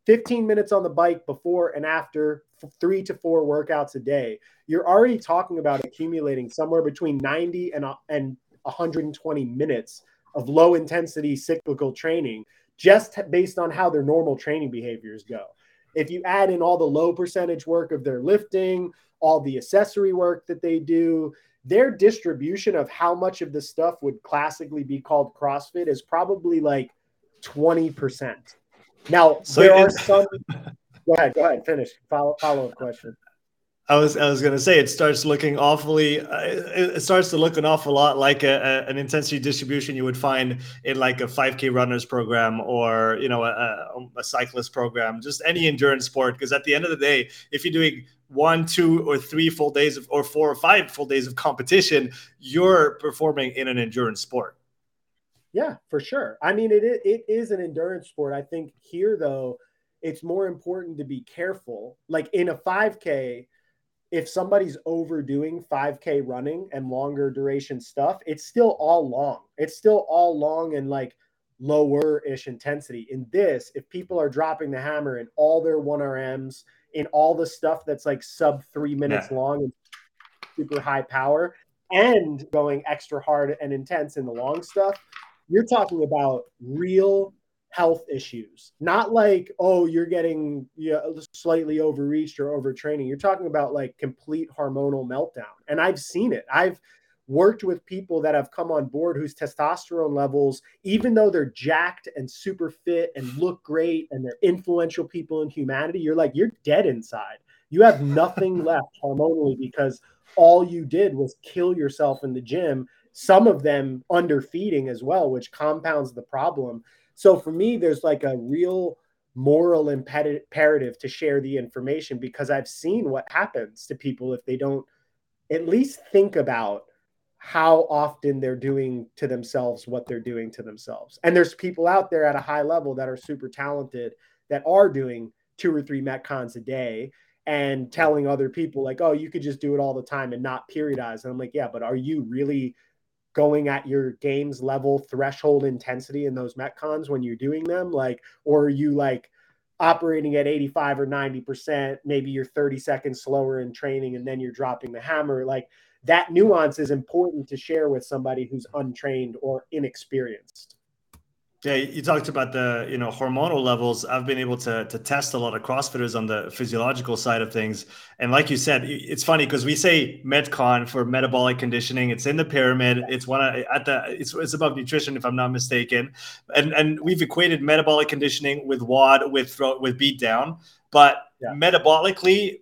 fifteen minutes on the bike before and after three to four workouts a day, you're already talking about accumulating somewhere between ninety and, and one hundred twenty minutes of low intensity cyclical training, just based on how their normal training behaviors go. If you add in all the low percentage work of their lifting, all the accessory work that they do, their distribution of how much of the stuff would classically be called CrossFit is probably like twenty percent. Now, so there are some. Go ahead, go ahead, finish. Follow, follow up question. I was I was gonna say it starts looking awfully. Uh, it starts to look an awful lot like a, a, an intensity distribution you would find in like a five K runners program, or you know a, a cyclist program, just any endurance sport. Because at the end of the day, if you're doing one, two, or three full days of, or four or five full days of competition, you're performing in an endurance sport. Yeah, for sure. I mean, it it is an endurance sport. I think here though, it's more important to be careful. Like in a five K. If somebody's overdoing five K running and longer duration stuff, it's still all long. It's still all long and like lower-ish intensity. In this, if people are dropping the hammer in all their one R Ms, in all the stuff that's like sub three minutes yeah. long and super high power, and going extra hard and intense in the long stuff, you're talking about real health issues, not like, oh, you're getting you know, slightly overreached or overtraining. You're talking about like complete hormonal meltdown. And I've seen it. I've worked with people that have come on board whose testosterone levels, even though they're jacked and super fit and look great and they're influential people in humanity, you're like, you're dead inside. You have nothing left hormonally because all you did was kill yourself in the gym. Some of them underfeeding as well, which compounds the problem. So for me, there's like a real moral imperative to share the information, because I've seen what happens to people if they don't at least think about how often they're doing to themselves what they're doing to themselves. And there's people out there at a high level that are super talented that are doing two or three Metcons a day and telling other people like, oh, you could just do it all the time and not periodize. And I'm like, yeah, but are you really going at your games level threshold intensity in those Metcons when you're doing them? Like, or are you like operating at eighty-five or ninety percent, maybe you're thirty seconds slower in training and then you're dropping the hammer? Like, that nuance is important to share with somebody who's untrained or inexperienced. Yeah, you talked about the, you know, hormonal levels. I've been able to to test a lot of CrossFitters on the physiological side of things. And like you said, it's funny because we say Metcon for metabolic conditioning. It's in the pyramid. It's one of, at the it's it's above nutrition, if I'm not mistaken. And and we've equated metabolic conditioning with W O D, with with beat down. But yeah. metabolically,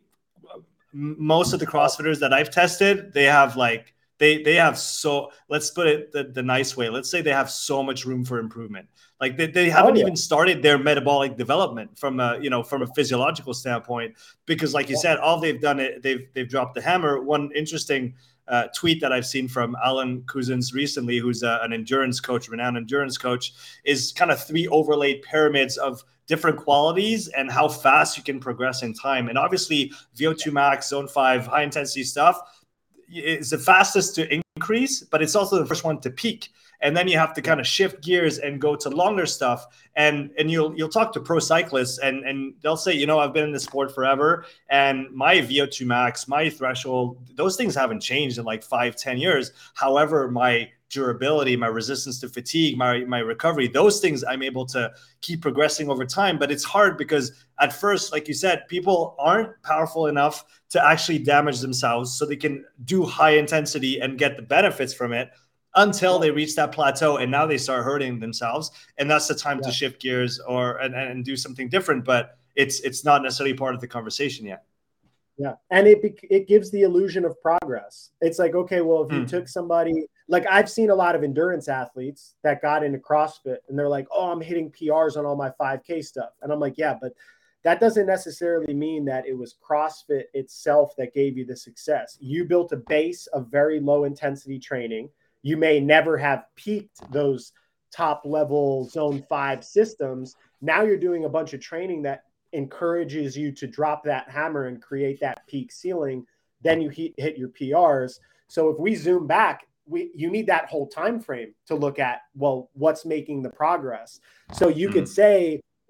most of the CrossFitters that I've tested, they have like They they have so, let's put it the, the nice way. Let's say they have so much room for improvement. Like they, they haven't oh, yeah. even started their metabolic development from a, you know, from a physiological standpoint, because like you yeah. said, all they've done it, they've, they've dropped the hammer. One interesting uh, tweet that I've seen from Alan Couzens recently, who's a, an endurance coach, renowned endurance coach, is kind of three overlaid pyramids of different qualities and how fast you can progress in time. And obviously V O two max, zone five, high intensity stuff, it's the fastest to increase, but it's also the first one to peak. And then you have to kind of shift gears and go to longer stuff. And and you'll you'll talk to pro cyclists and, and they'll say, you know, I've been in the sport forever and my V O two max, my threshold, those things haven't changed in like five, ten years. However, my durability, my resistance to fatigue, my, my recovery, those things I'm able to keep progressing over time. But it's hard because at first, like you said, people aren't powerful enough to actually damage themselves so they can do high intensity and get the benefits from it until they reach that plateau. And now they start hurting themselves. And that's the time yeah. to shift gears or and, and do something different. But it's it's not necessarily part of the conversation yet. Yeah. And it it gives the illusion of progress. It's like, okay, well, if you mm. took somebody, like I've seen a lot of endurance athletes that got into CrossFit and they're like, oh, I'm hitting P Rs on all my five K stuff. And I'm like, yeah, but that doesn't necessarily mean that it was CrossFit itself that gave you the success. You built a base of very low intensity training. You may never have peaked those top level zone five systems. Now you're doing a bunch of training that encourages you to drop that hammer and create that peak ceiling. Then you hit, hit your P Rs. So if we zoom back, we you need that whole time frame to look at, well, what's making the progress. So you mm. could say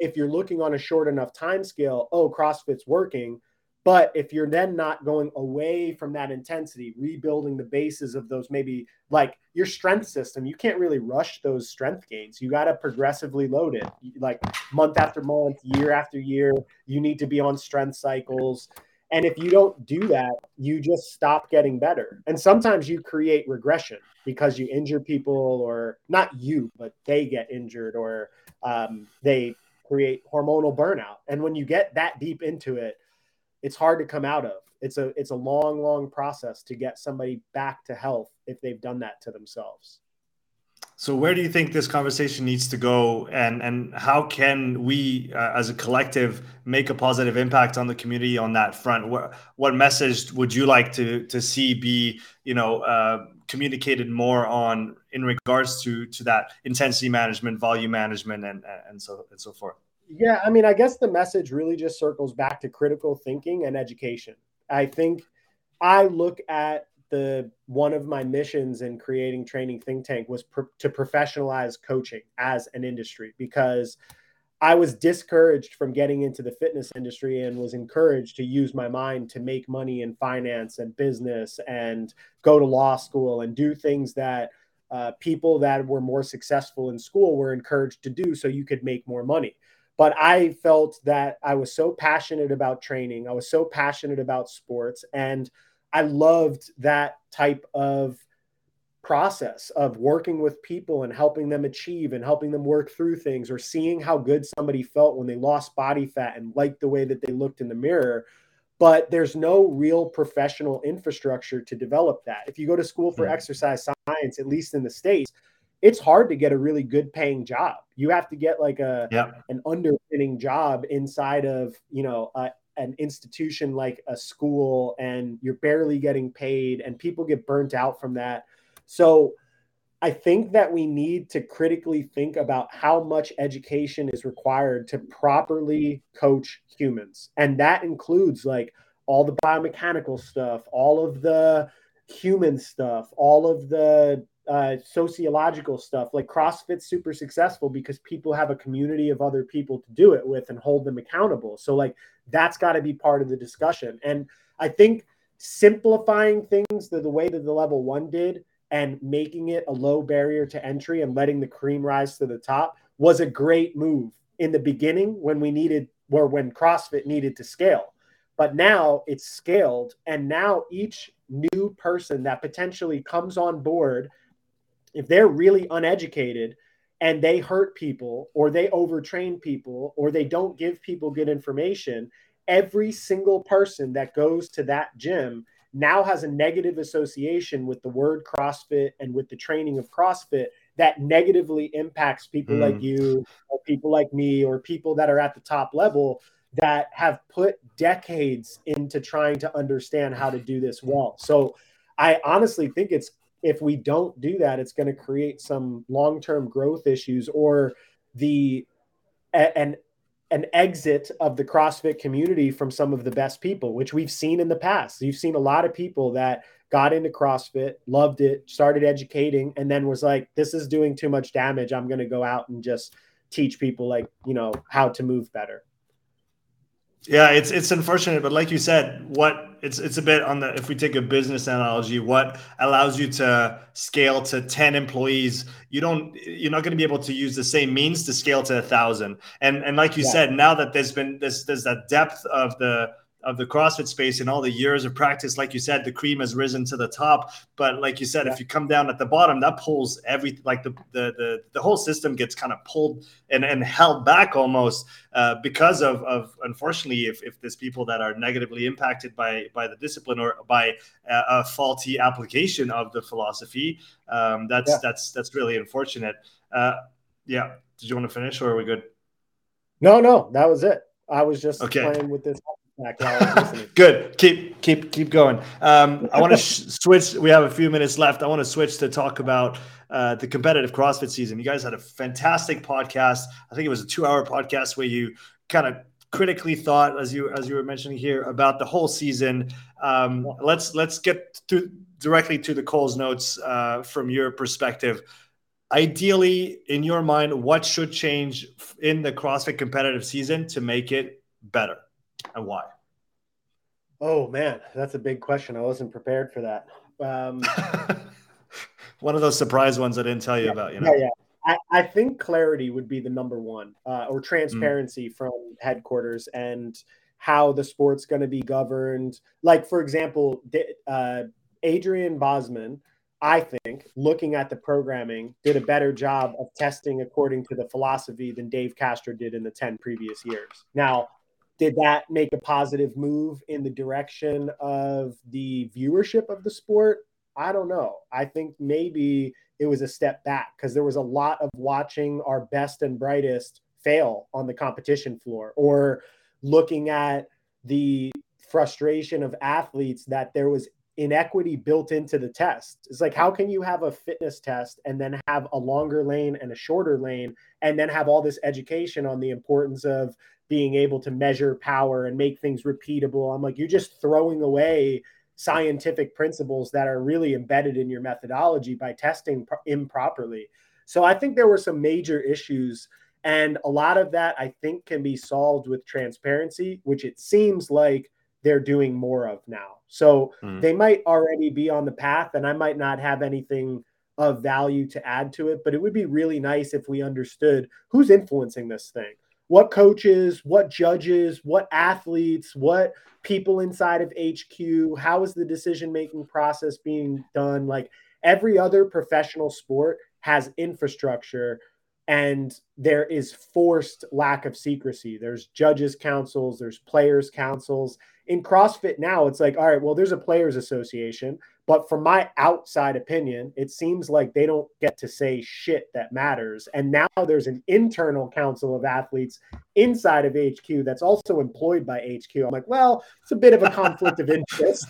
if you're looking on a short enough time scale, oh, CrossFit's working. But if you're then not going away from that intensity, rebuilding the bases of those, maybe like your strength system, you can't really rush those strength gains. You got to progressively load it, like month after month, year after year. You need to be on strength cycles. And if you don't do that, you just stop getting better. And sometimes you create regression because you injure people, or not you, but they get injured, or um, they create hormonal burnout. And when you get that deep into it, it's hard to come out of. It's a it's a long, long process to get somebody back to health if they've done that to themselves. So where do you think this conversation needs to go, and and how can we uh, as a collective make a positive impact on the community on that front? What what message would you like to to see be, you know, uh, communicated more on in regards to to that intensity management, volume management, and and so and so forth? Yeah, I mean, I guess the message really just circles back to critical thinking and education. I think I look at the one of my missions in creating Training Think Tank was pr- to professionalize coaching as an industry, because I was discouraged from getting into the fitness industry and was encouraged to use my mind to make money in finance and business and go to law school and do things that uh, people that were more successful in school were encouraged to do so you could make more money. But I felt that I was so passionate about training. I was so passionate about sports. And I loved that type of process of working with people and helping them achieve and helping them work through things, or seeing how good somebody felt when they lost body fat and liked the way that they looked in the mirror. But there's no real professional infrastructure to develop that. If you go to school for mm-hmm. exercise science, at least in the States, it's hard to get a really good paying job. You have to get like a yeah. an underpinning job inside of, you know, a, an institution like a school, and you're barely getting paid, and people get burnt out from that. So I think that we need to critically think about how much education is required to properly coach humans. And that includes like all the biomechanical stuff, all of the human stuff, all of the uh, sociological stuff. Like CrossFit's super successful because people have a community of other people to do it with and hold them accountable. So like that's got to be part of the discussion. And I think simplifying things the, the way that the level one did, and making it a low barrier to entry and letting the cream rise to the top was a great move in the beginning when we needed, or when CrossFit needed to scale. But now it's scaled, and now each new person that potentially comes on board, if they're really uneducated and they hurt people, or they overtrain people, or they don't give people good information, every single person that goes to that gym now has a negative association with the word CrossFit and with the training of CrossFit that negatively impacts people mm. like you, or people like me, or people that are at the top level that have put decades into trying to understand how to do this well. So I honestly think it's, if we don't do that, it's going to create some long-term growth issues, or the, and an exit of the CrossFit community from some of the best people, which we've seen in the past. You've seen a lot of people that got into CrossFit, loved it, started educating, and then was like, this is doing too much damage. I'm going to go out and just teach people, like, you know, how to move better. Yeah, it's it's unfortunate, but like you said, what it's it's a bit on the, if we take a business analogy, what allows you to scale to ten employees, you don't you're not going to be able to use the same means to scale to a thousand. And and like you yeah. said, now that there's been this there's that depth of the of the CrossFit space and all the years of practice, like you said, the cream has risen to the top. But like you said, yeah. if you come down at the bottom, that pulls everything, like the the the, the whole system gets kind of pulled and, and held back almost uh, because of, of unfortunately, if, if there's people that are negatively impacted by by the discipline, or by a, a faulty application of the philosophy, um, that's yeah. that's that's really unfortunate. Uh, yeah. Did you want to finish, or are we good? No, no, that was it. I was just okay. playing with this. Good. Keep keep keep going. Um, I want to sh- switch. We have a few minutes left. I want to switch to talk about uh, the competitive CrossFit season. You guys had a fantastic podcast. I think it was a two-hour podcast where you kind of critically thought, as you as you were mentioning here, about the whole season. Um, let's let's get to directly to the Cole's notes uh, from your perspective. ideally, in your mind, what should change in the CrossFit competitive season to make it better, and why? Oh man, that's a big question. I wasn't prepared for that. Um, One of those surprise ones I didn't tell you yeah, about, you yeah, know? yeah. I, I think clarity would be the number one, uh, or Mm. transparency from headquarters and how the sport's going to be governed. Like, for example, uh, Adrian Bosman, I think, looking at the programming, did a better job of testing according to the philosophy than Dave Castro did in the ten previous years. Now, did that make a positive move in the direction of the viewership of the sport? I don't know. I think maybe it was a step back because there was a lot of watching our best and brightest fail on the competition floor, or looking at the frustration of athletes that there was inequity built into the test. It's like, how can you have a fitness test and then have a longer lane and a shorter lane and then have all this education on the importance of being able to measure power and make things repeatable? I'm like, you're just throwing away scientific principles that are really embedded in your methodology by testing improperly. So I think there were some major issues, and a lot of that I think can be solved with transparency, which it seems like they're doing more of now. So mm. they might already be on the path, and I might not have anything of value to add to it, but it would be really nice if we understood who's influencing this thing. What coaches, what judges, what athletes, what people inside of H Q, how is the decision-making process being done? Like, every other professional sport has infrastructure, and there is forced lack of secrecy. There's judges councils, there's players councils. In CrossFit now, it's like, all right, well, there's a players association, but from my outside opinion, it seems like they don't get to say shit that matters. And now there's an internal council of athletes inside of H Q that's also employed by H Q. I'm like, well, it's a bit of a conflict of interest.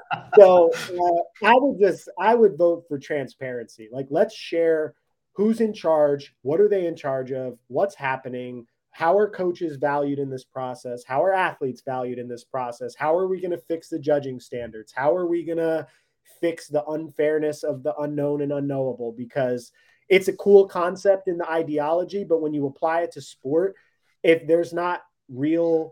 So uh, I would just, I would vote for transparency. Like, let's share who's in charge, what are they in charge of, what's happening, how are coaches valued in this process, how are athletes valued in this process, how are we going to fix the judging standards, how are we going to fix the unfairness of the unknown and unknowable, because it's a cool concept in the ideology, but when you apply it to sport, if there's not real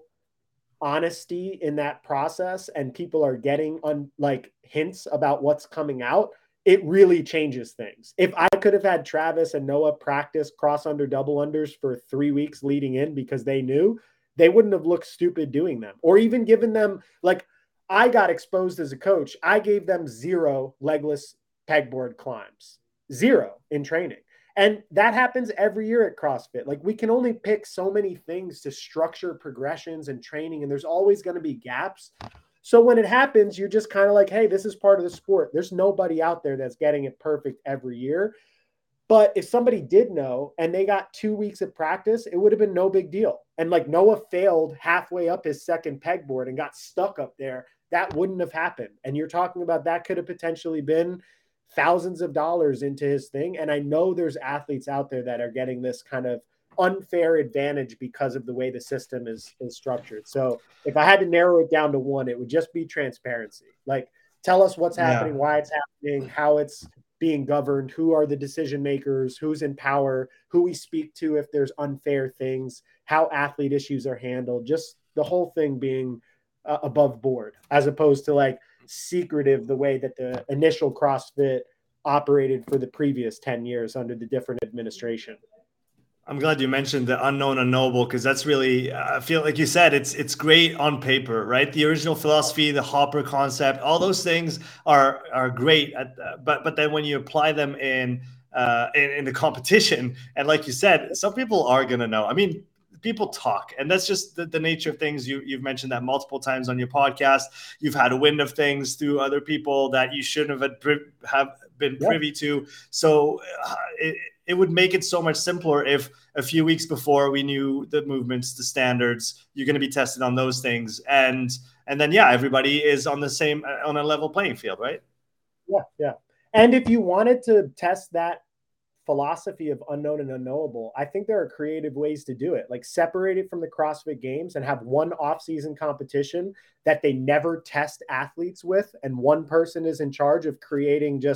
honesty in that process and people are getting on like hints about what's coming out, it really changes things. If I could have had Travis and Noah practice cross under double unders for three weeks leading in because they knew, they wouldn't have looked stupid doing them, or even given them, like, I got exposed as a coach. I gave them zero legless pegboard climbs, zero in training. And that happens every year at CrossFit. Like, we can only pick so many things to structure progressions and training, and there's always going to be gaps. So when it happens, you're just kind of like, hey, this is part of the sport. There's nobody out there that's getting it perfect every year. But if somebody did know and they got two weeks of practice, it would have been no big deal. And like, Noah failed halfway up his second pegboard and got stuck up there, that wouldn't have happened. And you're talking about that could have potentially been thousands of dollars into his thing. And I know there's athletes out there that are getting this kind of unfair advantage because of the way the system is, is structured. So if I had to narrow it down to one, it would just be transparency. Like, tell us what's happening, yeah. why it's happening, how it's being governed, who are the decision makers, who's in power, who we speak to if there's unfair things, how athlete issues are handled, just the whole thing being uh, above board, as opposed to like secretive the way that the initial CrossFit operated for the previous ten years under the different administration. I'm glad you mentioned the unknown unknowable, because that's really, I feel like you said, it's it's great on paper, right? The original philosophy, the Hopper concept, all those things are are great, at, uh, but but then when you apply them in, uh, in in the competition, and like you said, some people are gonna know. I mean, people talk, and that's just the, the nature of things. You you've mentioned that multiple times on your podcast. You've had a wind of things through other people that you shouldn't have have been privy yeah. to. So uh, it, it would make it so much simpler if a few weeks before we knew the movements, the standards, you're going to be tested on those things. And, and then, yeah, everybody is on the same, on a level playing field, right? Yeah. Yeah. And if you wanted to test that philosophy of unknown and unknowable, I think there are creative ways to do it. Like, separate it from the CrossFit Games and have one off-season competition that they never test athletes with. And one person is in charge of creating just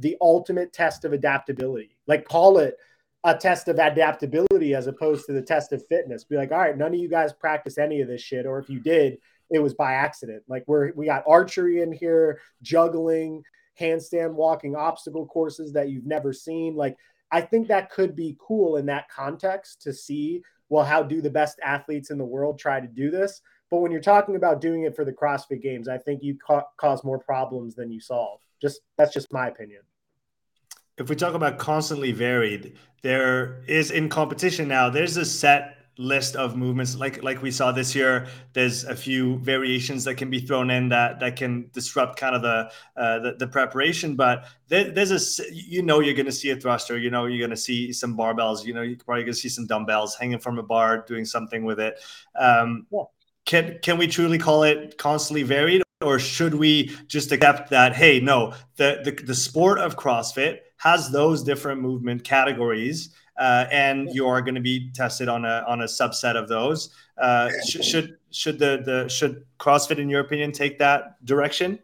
the ultimate test of adaptability. Like, call it a test of adaptability as opposed to the test of fitness. Be like, all right, none of you guys practice any of this shit, or if you did, it was by accident. Like, we're we got archery in here, juggling, handstand walking, obstacle courses that you've never seen. Like, I think that could be cool in that context to see, well, how do the best athletes in the world try to do this? But when you're talking about doing it for the CrossFit Games, I think you ca- cause more problems than you solve. Just that's just my opinion. If we talk about constantly varied, there is in competition now, there's a set list of movements like like we saw this year. There's a few variations that can be thrown in that that can disrupt kind of the uh, the, the preparation, but there, there's a you know you're going to see a thruster, you know you're going to see some barbells, you know you're probably going to see some dumbbells hanging from a bar doing something with it. Um, yeah. Can can we truly call it constantly varied, or should we just accept that, hey, no, the the, the sport of CrossFit has those different movement categories, uh, and you are going to be tested on a on a subset of those. Uh, sh- should should the the should CrossFit, in your opinion, take that direction?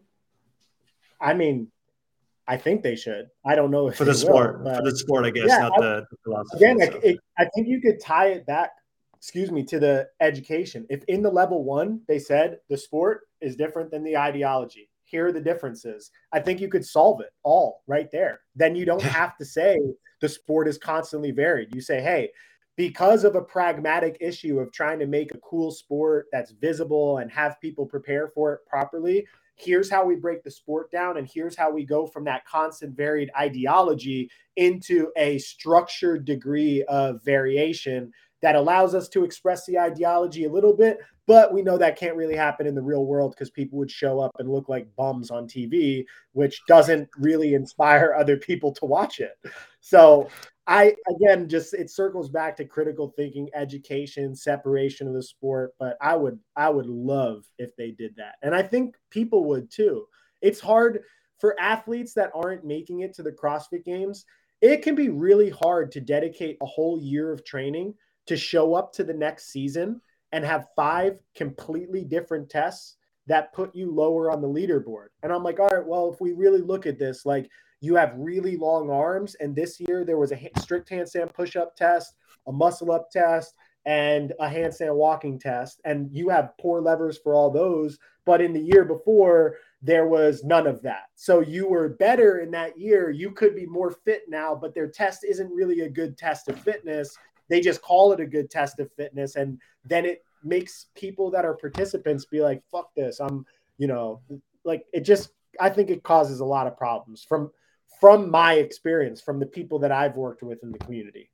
I mean, I think they should. I don't know if for the they sport, will, for the sport, I guess, yeah, not I, the, the philosophy. Again, like it, I think you could tie it back. Excuse me, to the education. If in the level one they said the sport is different than the ideology, here are the differences, I think you could solve it all right there. Then you don't have to say the sport is constantly varied. You say, hey, because of a pragmatic issue of trying to make a cool sport that's visible and have people prepare for it properly, here's how we break the sport down, and here's how we go from that constant varied ideology into a structured degree of variation that allows us to express the ideology a little bit, but we know that can't really happen in the real world because people would show up and look like bums on T V, which doesn't really inspire other people to watch it. So I, again, just, it circles back to critical thinking, education, separation of the sport. But I would, I would love if they did that. And I think people would too. It's hard for athletes that aren't making it to the CrossFit Games. It can be really hard to dedicate a whole year of training to show up to the next season and have five completely different tests that put you lower on the leaderboard. And I'm like, all right, well, if we really look at this, like, you have really long arms, and this year there was a strict handstand push-up test, a muscle-up test, and a handstand walking test, and you have poor levers for all those. But in the year before, there was none of that. So you were better in that year. You could be more fit now, but their test isn't really a good test of fitness. They just call it a good test of fitness. And then it makes people that are participants be like, fuck this. I'm, you know, like, it just, I think it causes a lot of problems from, from my experience, from the people that I've worked with in the community.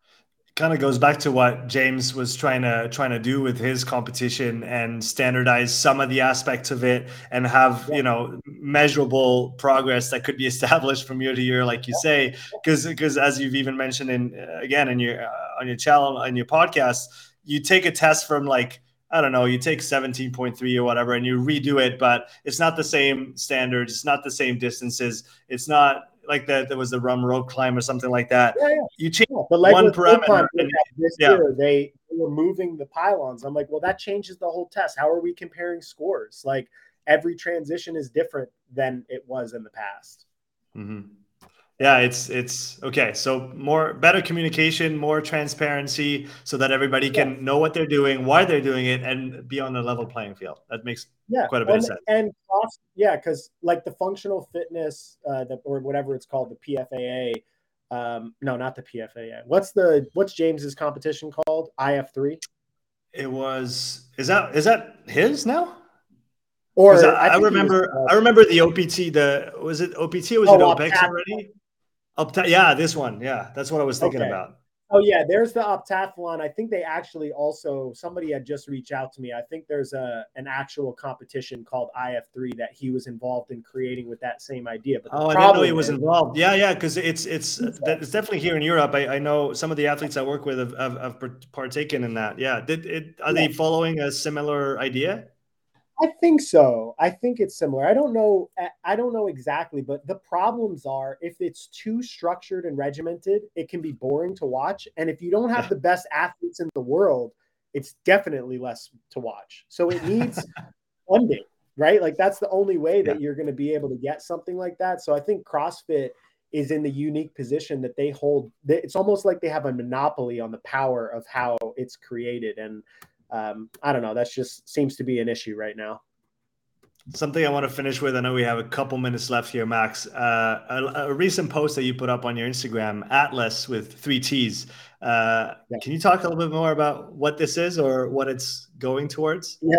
Kind of goes back to what James was trying to trying to do with his competition and standardize some of the aspects of it and have, yeah. you know, measurable progress that could be established from year to year, like you yeah. say, because because as you've even mentioned in uh, again in your uh, on your channel, on your podcast, you take a test from, like, I don't know, you take seventeen point three or whatever and you redo it, but it's not the same standards, it's not the same distances, it's not like that there was the rum rope climb or something like that. Yeah, yeah. You change yeah, the one parameter. And, this yeah. year they were moving the pylons. I'm like, well, that changes the whole test. How are we comparing scores? Like, every transition is different than it was in the past. Mm-hmm. Yeah, it's it's okay. So more better communication, more transparency, so that everybody can yeah. know what they're doing, why they're doing it, and be on a level playing field. That makes yeah. quite a bit and, of sense. And yeah, because like the functional fitness, uh, the, or whatever it's called, the P F A A. Um, no, not the P F A A. What's the what's James's competition called? I F three. It was. Is that is that his now? Or I, I, I remember was, uh, I remember the O P T. The was it O P T or was oh, it OPEX Optath- already? Opta- yeah, this one. Yeah, that's what I was thinking okay. about. Oh yeah, there's the Optathlon. I think they actually also, somebody had just reached out to me. I think there's a an actual competition called I F three that he was involved in creating with that same idea. But oh, I didn't know he was is, involved. Yeah, yeah, because it's it's it's definitely here in Europe. I, I know some of the athletes I work with have, have, have partaken in that. Yeah, did it? Are yeah. they following a similar idea? I think so. I think it's similar. I don't know. I don't know exactly, but the problems are if it's too structured and regimented, it can be boring to watch. And if you don't have yeah. the best athletes in the world, it's definitely less to watch. So it needs funding, right? Like, that's the only way that yeah. you're going to be able to get something like that. So I think CrossFit is in the unique position that they hold. It's almost like they have a monopoly on the power of how it's created. And um, I don't know, that's just seems to be an issue right now. Something I want to finish with, I know we have a couple minutes left here, Max. Uh, a, a recent post that you put up on your Instagram, Atlas with three T's. Uh, yeah. Can you talk a little bit more about what this is or what it's going towards? Yeah.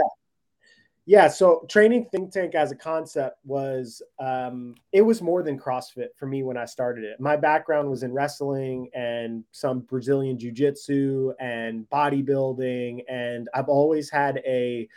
Yeah. So Training Think Tank as a concept was, um, it was more than CrossFit for me when I started it. My background was in wrestling and some Brazilian jiu-jitsu and bodybuilding. And I've always had a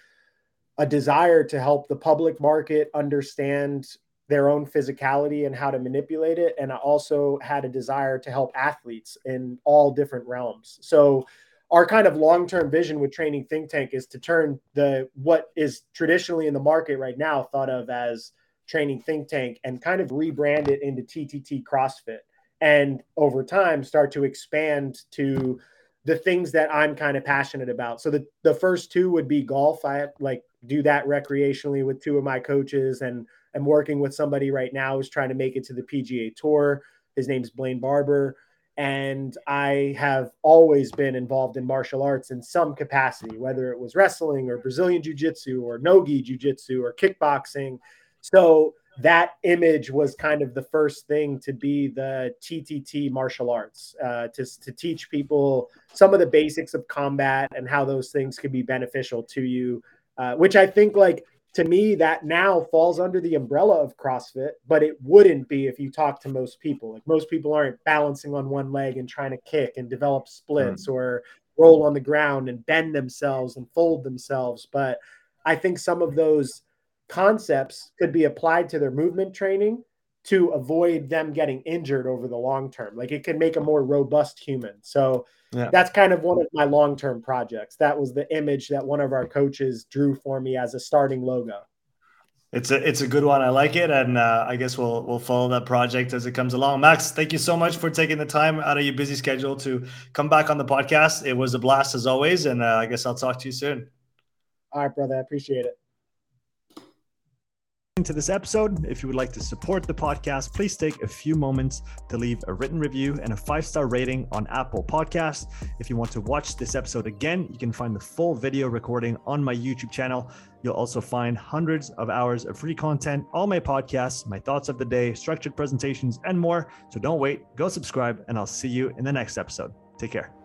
a desire to help the public market understand their own physicality and how to manipulate it. And I also had a desire to help athletes in all different realms. So our kind of long-term vision with Training Think Tank is to turn the, what is traditionally in the market right now thought of as Training Think Tank, and kind of rebrand it into T T T CrossFit. And over time start to expand to the things that I'm kind of passionate about. So the, the first two would be golf. I like do that recreationally with two of my coaches, and I'm working with somebody right now who's trying to make it to the P G A Tour. His name's Blaine Barber. And I have always been involved in martial arts in some capacity, whether it was wrestling or Brazilian jiu-jitsu or Nogi jiu-jitsu or kickboxing. So that image was kind of the first thing to be the T T T martial arts, uh, to, to teach people some of the basics of combat and how those things could be beneficial to you, uh, which I think, like, to me, that now falls under the umbrella of CrossFit, but it wouldn't be if you talk to most people. Like, most people aren't balancing on one leg and trying to kick and develop splits mm. or roll on the ground and bend themselves and fold themselves. But I think some of those concepts could be applied to their movement training to avoid them getting injured over the long term. Like, it could make a more robust human. So yeah. That's kind of one of my long-term projects. That was the image that one of our coaches drew for me as a starting logo. It's a, it's a good one. I like it. And uh, I guess we'll, we'll follow that project as it comes along. Max, thank you so much for taking the time out of your busy schedule to come back on the podcast. It was a blast as always. And uh, I guess I'll talk to you soon. All right, brother. I appreciate it. To this episode. If you would like to support the podcast, please take a few moments to leave a written review and a five-star rating on Apple Podcasts. If you want to watch this episode again, you can find the full video recording on my YouTube channel. You'll also find hundreds of hours of free content, all my podcasts, my thoughts of the day, structured presentations, and more. So don't wait, go subscribe, and I'll see you in the next episode. Take care.